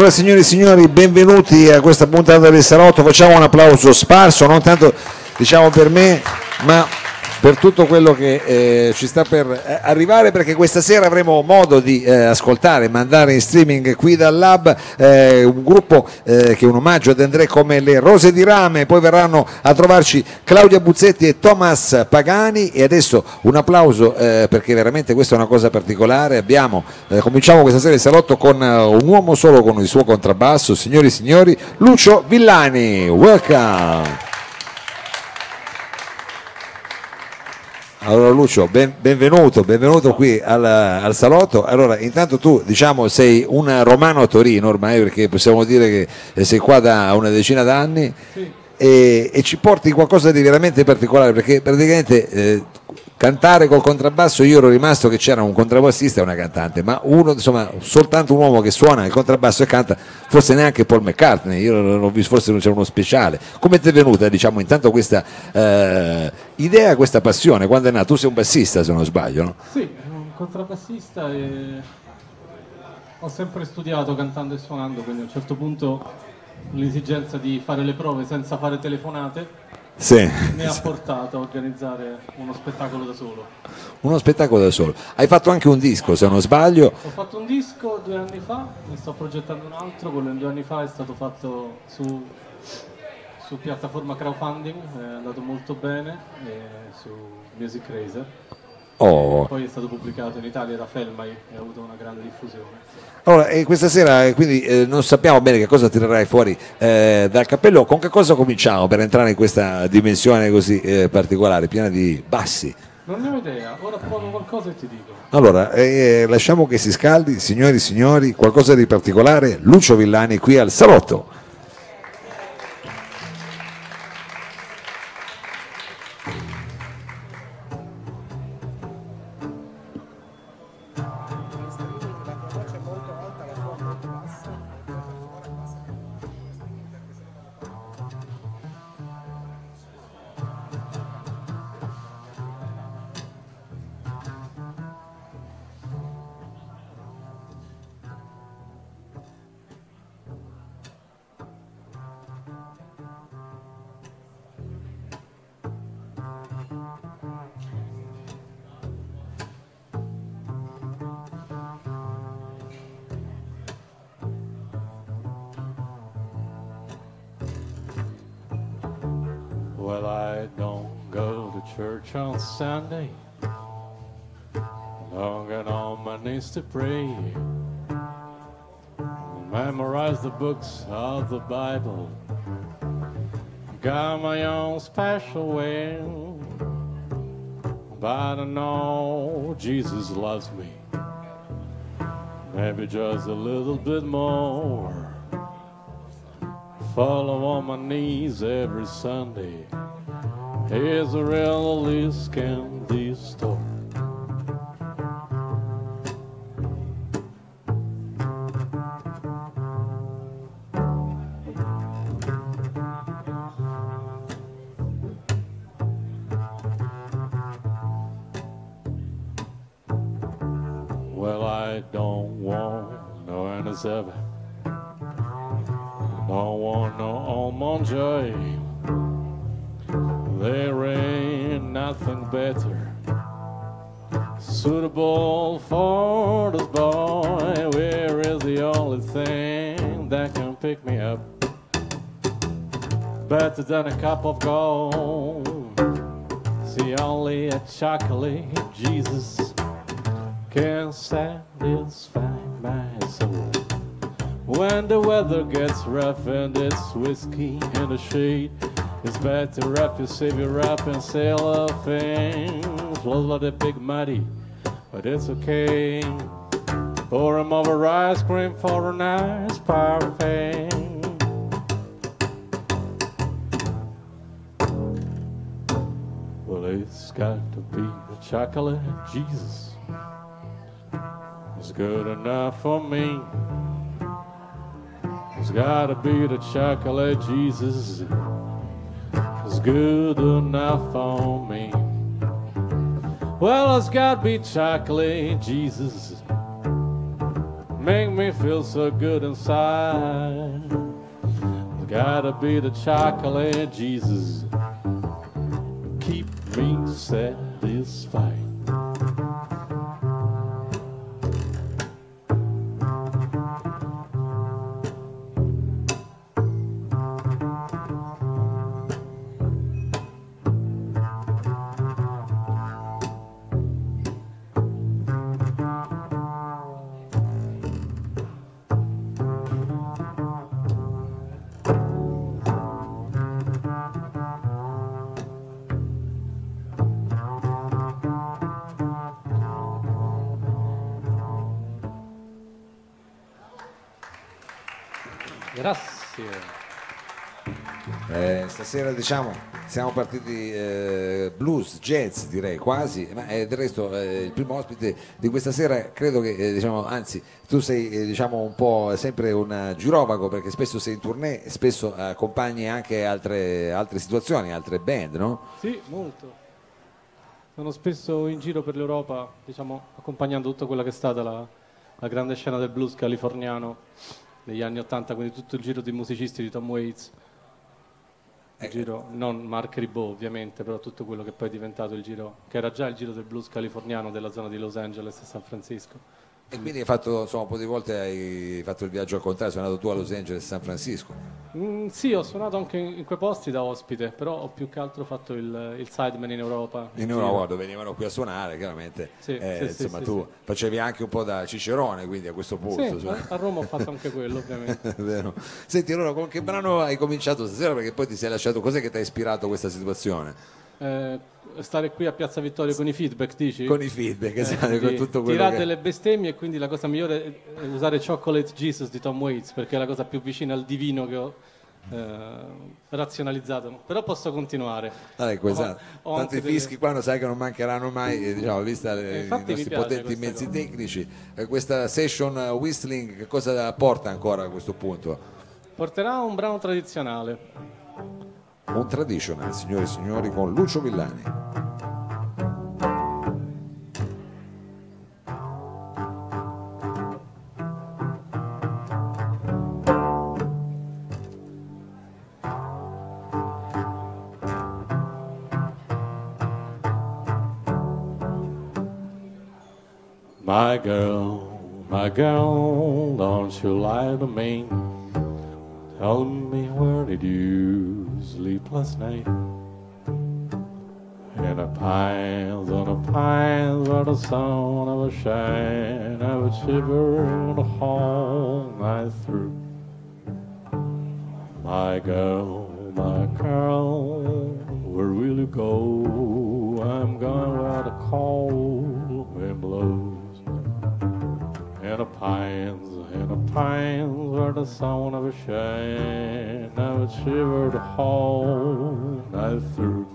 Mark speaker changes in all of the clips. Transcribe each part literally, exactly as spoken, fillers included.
Speaker 1: Allora, signori e signori, benvenuti a questa puntata del Salotto. Facciamo un applauso sparso, non tanto diciamo per me, ma per tutto quello che eh, ci sta per eh, arrivare, perché questa sera avremo modo di eh, ascoltare, mandare in streaming qui dal Lab eh, un gruppo eh, che è un omaggio ad André come le Rose di Rame. Poi verranno a trovarci Claudia Buzzetti e Thomas Pagani. E adesso un applauso eh, perché veramente questa è una cosa particolare. Abbiamo eh, cominciamo questa sera il Salotto con uh, un uomo solo con il suo contrabbasso, signori e signori, Lucio Villani. Welcome. Allora Lucio, ben, benvenuto, benvenuto qui al, al Salotto. Allora, intanto tu diciamo sei un romano a Torino ormai, perché possiamo dire che sei qua da una decina d'anni. Sì. e, e ci porti qualcosa di veramente particolare, perché praticamente eh, cantare col contrabbasso, io ero rimasto che c'era un contrabbassista e una cantante, ma uno, insomma, soltanto un uomo che suona il contrabbasso e canta, forse neanche Paul McCartney, io non ho visto, forse non c'era uno speciale. Come ti è venuta, diciamo, intanto questa eh, idea, questa passione, quando è nata? Tu sei un bassista, se non sbaglio, no?
Speaker 2: Sì, un contrabbassista e ho sempre studiato cantando e suonando, quindi a un certo punto l'esigenza di fare le prove senza fare telefonate
Speaker 1: sì,
Speaker 2: mi ha portato a organizzare uno spettacolo da solo.
Speaker 1: Uno spettacolo da solo. Hai fatto anche un disco, se non sbaglio.
Speaker 2: Ho fatto un disco due anni fa, ne sto progettando un altro, quello di due anni fa è stato fatto su, su piattaforma crowdfunding, è andato molto bene, su Music Razer.
Speaker 1: Oh.
Speaker 2: Poi è stato pubblicato in Italia da Felmai e ha avuto una grande diffusione.
Speaker 1: Allora, e questa sera quindi eh, non sappiamo bene che cosa tirerai fuori eh, dal cappello. Con che cosa cominciamo per entrare in questa dimensione così eh, particolare, piena di bassi?
Speaker 2: Non ne ho idea, ora provo qualcosa e ti dico.
Speaker 1: Allora, eh, lasciamo che si scaldi, signori e signori, qualcosa di particolare, Lucio Villani qui al Salotto.
Speaker 2: Well, I don't go to church on Sunday. I don't get on my knees to pray. I memorize the books of the Bible. Got my own special way. But I know Jesus loves me. Maybe just a little bit more. Follow on my knees every Sunday. Here's a real Liz candy store. Well, I don't want no N S seven. Don't want no almond joy. There ain't nothing better suitable for this boy. Where is the only thing that can pick me up? Better than a cup of gold. See, only a chocolate Jesus can satisfy my soul. When the weather gets rough and it's whiskey in the shade, it's better to wrap your savior up and sail off and float like a big muddy, but it's okay. Pour him over ice cream for a nice parfait. Well, it's got to be the chocolate Jesus. It's good enough for me. It's gotta be the chocolate Jesus. It's good enough for me. Well, it's gotta be chocolate Jesus. make me feel so good inside. It's gotta be the chocolate, Jesus, keep me satisfied. Grazie.
Speaker 1: Eh, stasera diciamo siamo partiti eh, blues, jazz direi quasi, ma eh, del resto eh, il primo ospite di questa sera credo che eh, diciamo, anzi tu sei eh, diciamo un po' sempre un girovago perché spesso sei in tournée, spesso accompagni anche altre, altre situazioni, altre band, no?
Speaker 2: Sì, molto. Sono spesso in giro per l'Europa, diciamo, accompagnando tutta quella che è stata la, la grande scena del blues californiano negli anni Ottanta, quindi tutto il giro di musicisti di Tom Waits, il giro, non Mark Ribot ovviamente, però tutto quello che poi è diventato il giro, che era già il giro del blues californiano della zona di Los Angeles e San Francisco.
Speaker 1: E quindi hai fatto, insomma, un po' di volte hai fatto il viaggio al contrario, sei andato tu a Los Angeles e San Francisco.
Speaker 2: Mm, sì, ho suonato anche in, in quei posti da ospite, però ho più che altro fatto il, il sideman in Europa.
Speaker 1: In Europa, dove venivano qui a suonare, chiaramente.
Speaker 2: Sì,
Speaker 1: eh,
Speaker 2: sì,
Speaker 1: insomma,
Speaker 2: sì,
Speaker 1: tu
Speaker 2: sì.
Speaker 1: facevi anche un po' da cicerone, quindi a questo punto.
Speaker 2: Sì, a Roma ho fatto anche quello, ovviamente.
Speaker 1: Vero. Senti, allora con che brano hai cominciato stasera? Perché poi ti sei lasciato, cos'è che ti ha ispirato questa situazione?
Speaker 2: Eh, stare qui a Piazza Vittorio con i feedback, dici?
Speaker 1: Con i feedback, esatto,
Speaker 2: Eh,
Speaker 1: con
Speaker 2: di-
Speaker 1: tutto quello
Speaker 2: tirare
Speaker 1: che...
Speaker 2: delle bestemmie e quindi la cosa migliore è usare Chocolate Jesus di Tom Waits perché è la cosa più vicina al divino che ho eh, razionalizzato. Però posso continuare.
Speaker 1: Ah, ecco, esatto.
Speaker 2: Ho
Speaker 1: Tanto
Speaker 2: anche
Speaker 1: i
Speaker 2: delle-
Speaker 1: fischi qua non sai che non mancheranno mai, eh, diciamo, vista le-
Speaker 2: E
Speaker 1: i
Speaker 2: infatti mi
Speaker 1: nostri
Speaker 2: piace
Speaker 1: potenti
Speaker 2: questa
Speaker 1: mezzi
Speaker 2: cosa.
Speaker 1: tecnici. Eh, questa session eh, whistling che cosa porta ancora a questo punto?
Speaker 2: Porterà un brano tradizionale.
Speaker 1: Un traditional, signore e signori, con Lucio Villani.
Speaker 2: My girl, my girl, don't you lie to me. Tell me where did you sleep last night? In the pines, on the pines where the sun ever shine, I would shiver the whole night through. My girl, my girl, where will you go? I'm going where the cold wind blows. In the pines, in the pines where the sun never shine, I would shiver the whole night through.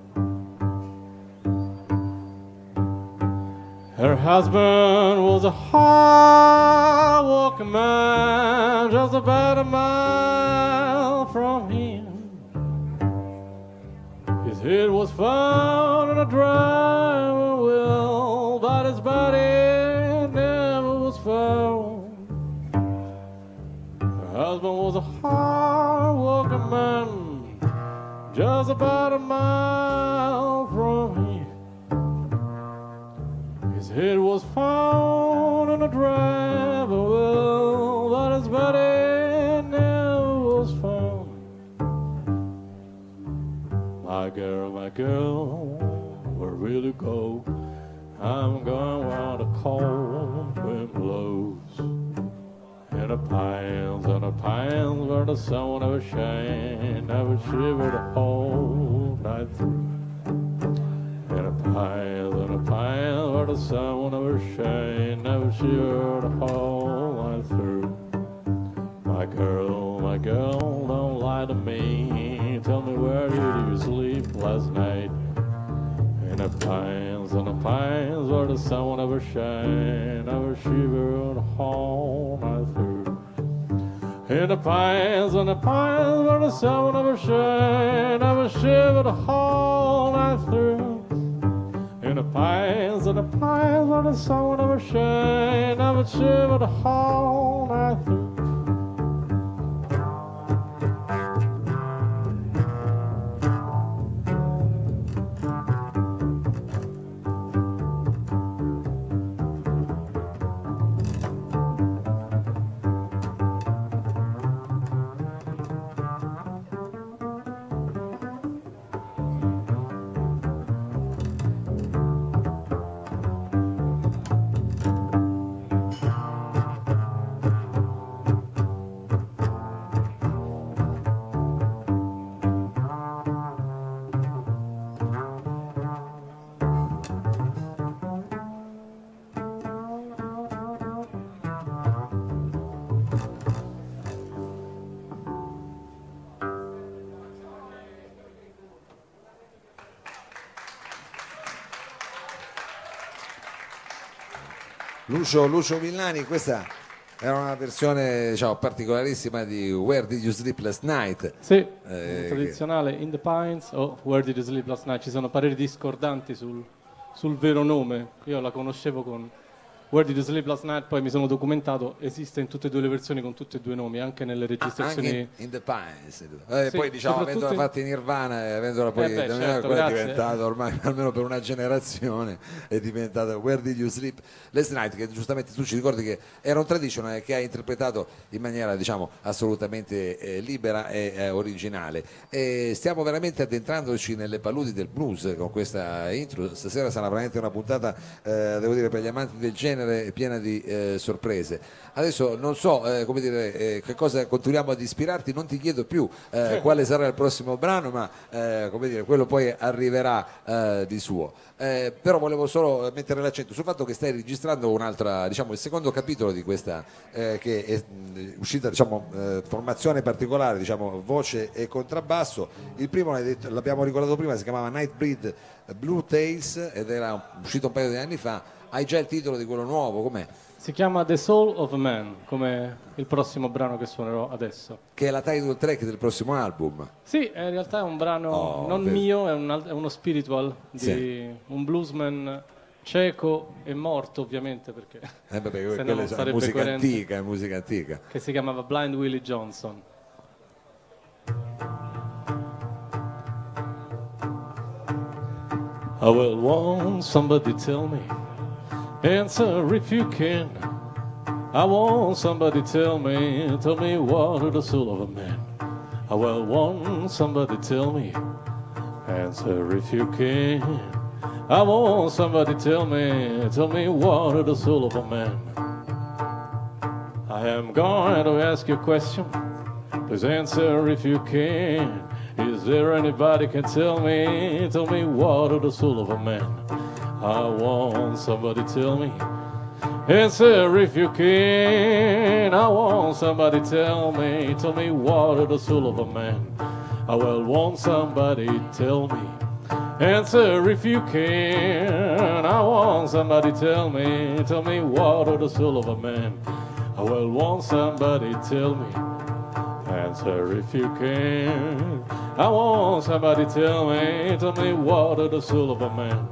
Speaker 2: Her husband was a hard-working man, just about a mile from him. His head was found in a driving wheel, but his body never was found. Her husband was a hard-working man, just about a mile from him. His head was found in a driving wheel, but his body never was found. My girl, my girl, where will you go? I'm going where the cold wind blows. In the pines, in the pines where the sun never shine, I would shiver the whole night through. In the pines, in the pines where the sun will never shine, I would shiver the whole night through. My girl, my girl, don't lie to me. Tell me where did you sleep last night? In the pines, in the pines where the sun will never shine, I would shiver the whole night through. In the pines, in the pines where the sun will never shine, I would shiver the whole night through. In the the pines, and the pines where the sun will never shine, never shiver the whole night through.
Speaker 1: Lucio, Lucio Villani, questa era una versione, diciamo, particolarissima di Where Did You Sleep Last Night?
Speaker 2: Sì,
Speaker 1: Eh,
Speaker 2: tradizionale In the Pines o Where Did You Sleep Last Night. Ci sono pareri discordanti sul, sul vero nome. Io la conoscevo con Where Did You Sleep Last Night, poi mi sono documentato, esiste in tutte e due le versioni con tutti e due i nomi, anche nelle registrazioni.
Speaker 1: Anche in, in the Pines. Eh,
Speaker 2: Sì,
Speaker 1: poi diciamo,
Speaker 2: soprattutto
Speaker 1: avendola
Speaker 2: in-
Speaker 1: fatta in Nirvana e avendola poi
Speaker 2: Eh beh,
Speaker 1: da me,
Speaker 2: certo,
Speaker 1: quella è
Speaker 2: grazie.
Speaker 1: diventata ormai, almeno per una generazione, è diventata Where Did You Sleep Last Night, che giustamente tu ci ricordi che era un traditional che ha interpretato in maniera, diciamo, assolutamente eh, libera e eh, originale. E stiamo veramente addentrandoci nelle paludi del blues con questa intro. Stasera sarà veramente una puntata, eh, devo dire, per gli amanti del genere, piena di eh, sorprese. Adesso non so, eh, come dire, eh, che cosa continuiamo ad ispirarti, non ti chiedo più eh, quale sarà il prossimo brano, ma eh, come dire, quello poi arriverà eh, di suo. Eh, però volevo solo mettere l'accento sul fatto che stai registrando un'altra, diciamo, il secondo capitolo di questa eh, che è mh, uscita, diciamo, eh, formazione particolare, diciamo, voce e contrabbasso. Il primo, l'hai detto- l'abbiamo ricordato prima, si chiamava Nightbreed Blue Tales ed era uscito un paio di anni fa. Hai già il titolo di quello nuovo, com'è?
Speaker 2: Si chiama The Soul of a Man, come il prossimo brano che suonerò adesso.
Speaker 1: Che è la title track del prossimo album.
Speaker 2: Sì, in realtà è un brano
Speaker 1: Oh,
Speaker 2: non
Speaker 1: vedi.
Speaker 2: mio, è, un al- è uno spiritual di
Speaker 1: Sì.
Speaker 2: un bluesman cieco e morto, ovviamente, perché
Speaker 1: Eh, vabbè,
Speaker 2: se no
Speaker 1: quella
Speaker 2: non
Speaker 1: è
Speaker 2: sarebbe
Speaker 1: musica
Speaker 2: coerente.
Speaker 1: antica, è musica antica.
Speaker 2: Che si chiamava Blind Willie Johnson. I will want somebody tell me, answer if you can. I want somebody tell me, tell me what is the soul of a man. I will want somebody tell me, answer if you can. I want somebody tell me, tell me what is the soul of a man. I am going to ask you a question. Please answer if you can. Is there anybody can tell me, tell me what is the soul of a man? I want somebody tell me. Answer if you can. I want somebody tell me, tell me what is the soul of a man? I will want somebody tell me. Answer if you can. I want somebody tell me, tell me what is the soul of a man? I will want somebody tell me. Answer if you can. I want somebody tell me, tell me what is the soul of a man?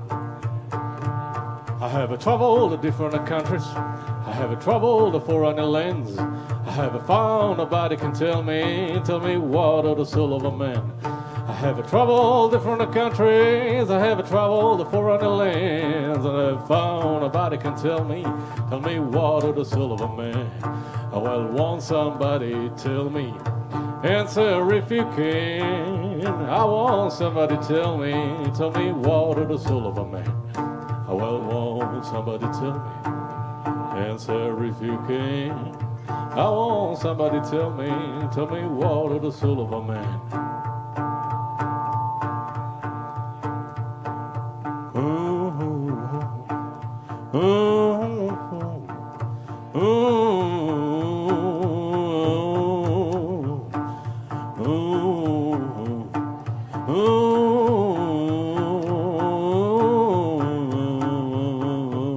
Speaker 2: I have traveled to different countries. I have traveled to foreign lands. I have found nobody can tell me, tell me what is the soul of a man. I have traveled different countries. I have traveled to foreign lands, and I have found nobody can tell me, tell me what is the soul of a man. I will want somebody tell me. Answer if you can. I want somebody tell me, tell me what is the soul of a man. I will want somebody tell me. Answer if you can. I want somebody tell me, tell me what is the soul of a man. Ooh, ooh, ooh,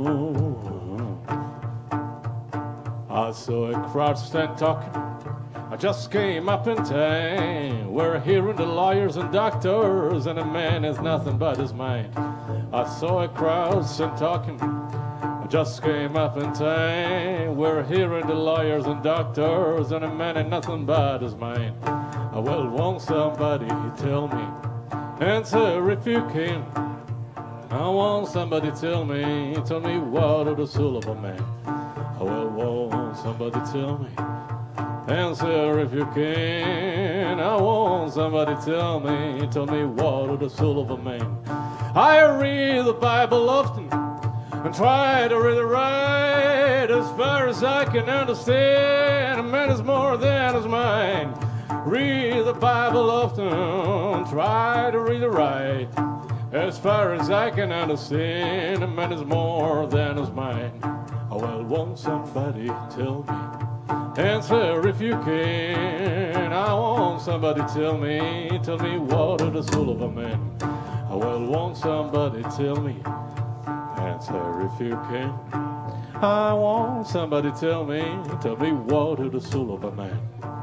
Speaker 2: I saw a crowd stand talking I just came up in time. We're hearing the lawyers and doctors, and a man has nothing but his mind. I saw a crowd and talking. I just came up in time. We're hearing the lawyers and doctors, and a man has nothing but his mind. I well, won't somebody tell me? Answer if you can. I want somebody tell me, tell me what of the soul of a man. I well, won't somebody tell me? Answer if you can. I want somebody tell me, tell me what of the soul of a man. I read the Bible often and try to read it right. As far as I can understand, a man is more than his mind. Read the Bible often, try to read it right. As far as I can understand, a man is more than his mind. Oh, well, won't somebody tell me? Answer if you can. I want somebody tell me, tell me what of the soul of a man. Oh, well, won't somebody tell me? Answer if you can. I want somebody tell me, tell me what of the soul of a man.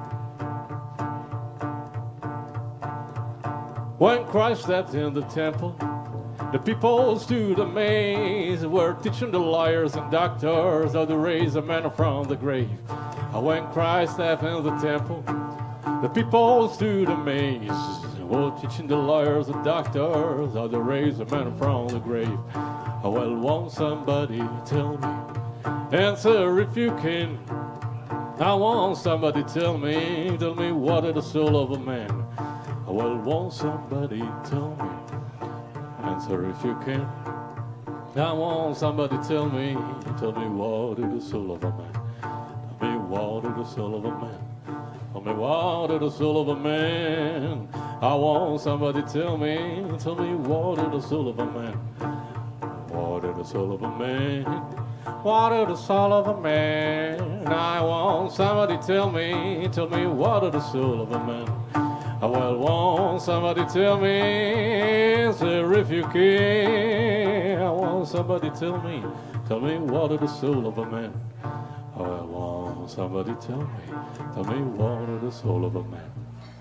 Speaker 2: When Christ stepped in the temple, the people stood amazed. Were teaching the lawyers and doctors how to raise a man from the grave. And when Christ stepped in the temple, the people stood amazed. Were teaching the lawyers and doctors how to raise a man from the grave. Oh, well, won't somebody tell me? Answer if you can. I want somebody tell me, tell me what is the soul of a man. Well, won't somebody tell me? Answer if you can. I want somebody tell me, tell me what is the soul of a man. Tell me what is the soul of a man. Tell me what is the soul of a man. I want somebody tell me, tell me what is the soul of a man. What is the soul of a man? What is the soul of a man? I want somebody tell me, tell me what is the soul of a man. I well, won't somebody tell me, answer if you can. I want somebody tell me, tell me what is the soul of a man. I well, won't somebody tell me, tell me what is the soul of a man.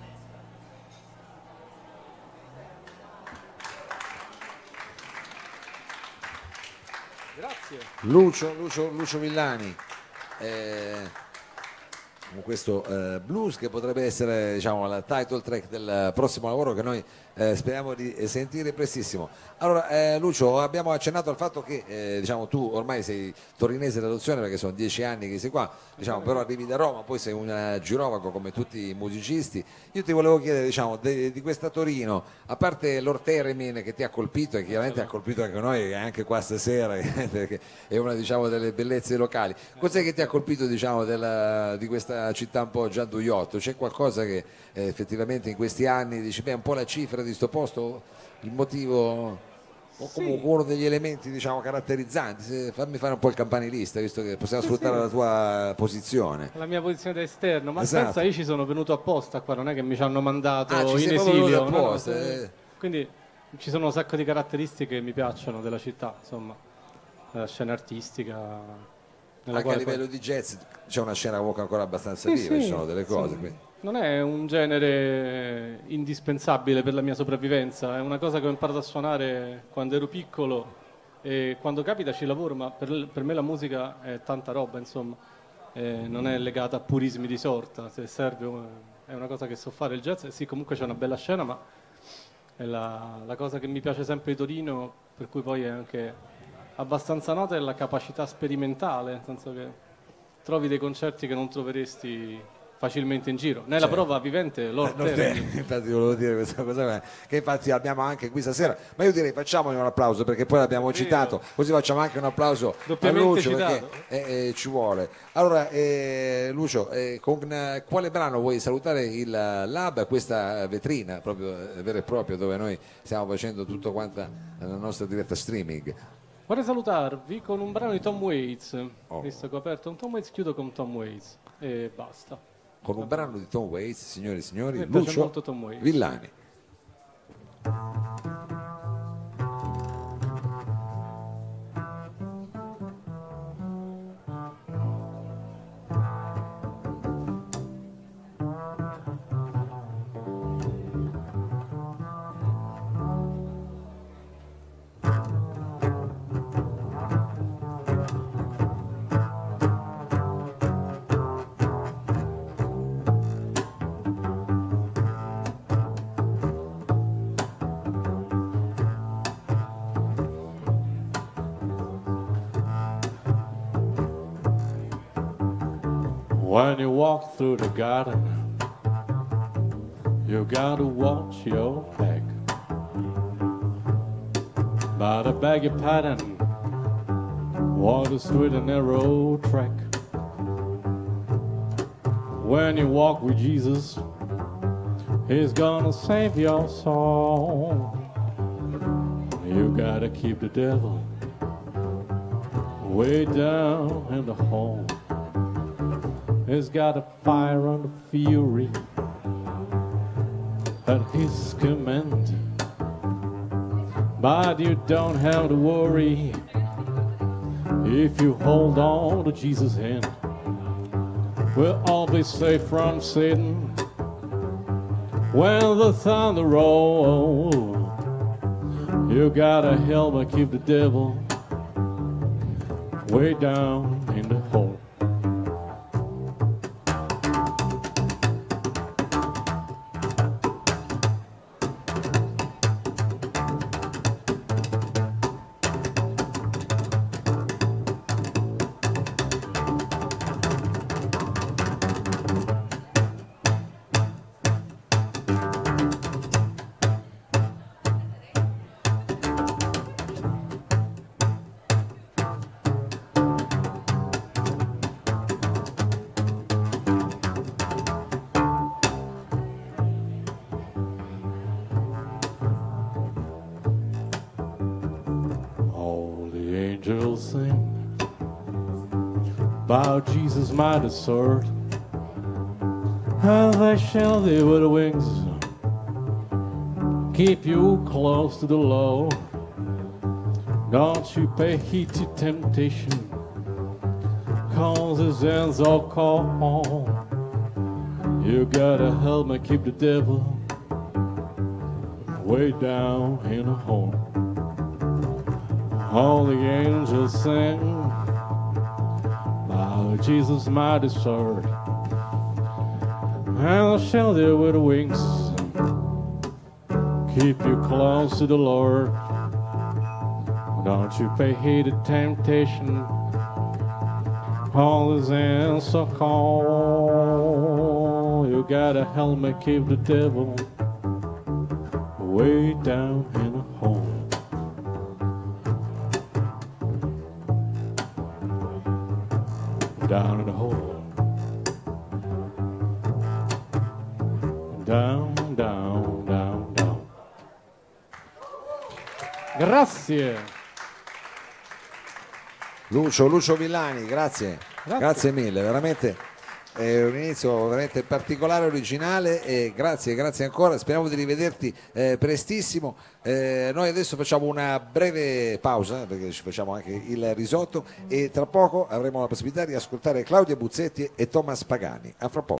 Speaker 1: Grazie. Lucio, Lucio, Lucio Villani. Eh... con questo eh, blues che potrebbe essere, diciamo, la title track del prossimo lavoro che noi eh, speriamo di sentire prestissimo. Allora eh, Lucio, abbiamo accennato al fatto che eh, diciamo, tu ormai sei torinese d'adozione perché sono dieci anni che sei qua, diciamo, però arrivi da Roma, poi sei un girovago come tutti i musicisti. Io ti volevo chiedere, diciamo, de, di questa Torino, a parte Lord Theremin che ti ha colpito e chiaramente ha colpito anche noi, anche qua stasera, perché è una, diciamo, delle bellezze locali, cos'è che ti ha colpito, diciamo, della, di questa città un po' gianduiotto? C'è qualcosa che eh, effettivamente in questi anni dici, beh, un po' la cifra di sto posto, il motivo o comunque sì, uno degli elementi, diciamo, caratterizzanti? Se, fammi fare un po' il campanilista, visto che possiamo sì, sfruttare sì, la tua posizione,
Speaker 2: la mia posizione da esterno, ma
Speaker 1: esatto,
Speaker 2: pensa, io ci sono venuto apposta qua, non è che mi ci hanno mandato
Speaker 1: ah,
Speaker 2: in esilio,
Speaker 1: apposta,
Speaker 2: no?
Speaker 1: eh.
Speaker 2: Quindi ci sono un sacco di caratteristiche che mi piacciono della città, insomma, la scena artistica,
Speaker 1: anche a livello poi... di jazz c'è una scena comunque ancora abbastanza
Speaker 2: sì,
Speaker 1: viva,
Speaker 2: sì,
Speaker 1: ci sono delle cose,
Speaker 2: sì.
Speaker 1: Quindi.
Speaker 2: Non è un genere indispensabile per la mia sopravvivenza, è una cosa che ho imparato a suonare quando ero piccolo e quando capita ci lavoro, ma per, per me la musica è tanta roba, insomma, eh, non è legata a purismi di sorta, se serve è una cosa che so fare. Il jazz, sì, comunque c'è una bella scena, ma è la, la cosa che mi piace sempre di Torino, per cui poi è anche abbastanza nota, è la capacità sperimentale, nel senso che trovi dei concerti che non troveresti facilmente in giro. Nella certo. prova vivente Lord
Speaker 1: eh, Theremin. Infatti volevo dire questa cosa che infatti abbiamo anche qui stasera, ma io direi facciamogli un applauso perché poi l'abbiamo citato, così facciamo anche un applauso a Lucio perché eh, eh, ci vuole. Allora eh, Lucio, eh, con eh, quale brano vuoi salutare il Lab, questa vetrina proprio eh, vera e propria dove noi stiamo facendo tutto quanta la nostra diretta streaming?
Speaker 2: Vorrei salutarvi con un brano di Tom Waits,
Speaker 1: oh.
Speaker 2: visto che ho aperto un Tom Waits, chiudo con Tom Waits e basta.
Speaker 1: Con un brano di Tom Waits, signore e signori,
Speaker 2: Mi
Speaker 1: Lucio
Speaker 2: molto Tom Waits.
Speaker 1: Villani.
Speaker 2: When you walk through the garden, you gotta watch your back. But I beg your pardon, walk the straight and narrow track. When you walk with Jesus, He's gonna save your soul. You gotta keep the devil way down in the hole. He's got a fire and a fury at His command. But you don't have to worry if you hold on to Jesus' hand. We'll all be safe from Satan when the thunder rolls. You gotta help me keep the devil way down in the hole. Angels sing about Jesus mighty sword, and they shall they with wings keep you close to the Lord. Don't you pay heed to temptation, cause His hands are cold. You gotta help me keep the devil way down in a hole. All the angels sing about Jesus mighty sword, and shall they with wings keep you close to the Lord. Don't you pay heed to temptation, all His hands so cold. You gotta help me keep the devil way down in a hole. Down in the hole. Down, down, down, down. Grazie.
Speaker 1: Lucio, Lucio Villani, grazie.
Speaker 2: Grazie.
Speaker 1: Grazie mille, veramente è un inizio veramente particolare, originale, e grazie, grazie ancora, speriamo di rivederti eh, prestissimo. Eh, noi adesso facciamo una breve pausa perché ci facciamo anche il risotto e tra poco avremo la possibilità di ascoltare Claudia Buzzetti e Thomas Pagani. A fra poco.